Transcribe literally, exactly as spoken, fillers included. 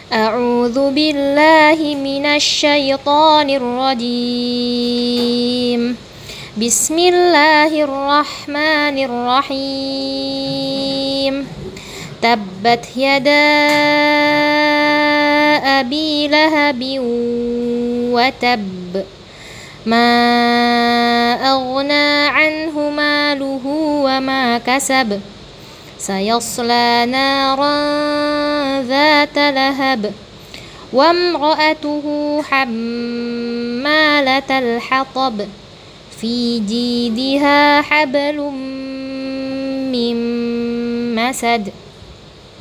أعوذ بالله من الشيطان الرجيم. بسم الله الرحمن الرحيم. تبت يدا أبي لهب وتب، ما أغنى عنه ماله وما كسب، سيصلى نارا ذات لهب، وامرأته حمالة الحطب، في جيدها حبل من مسد.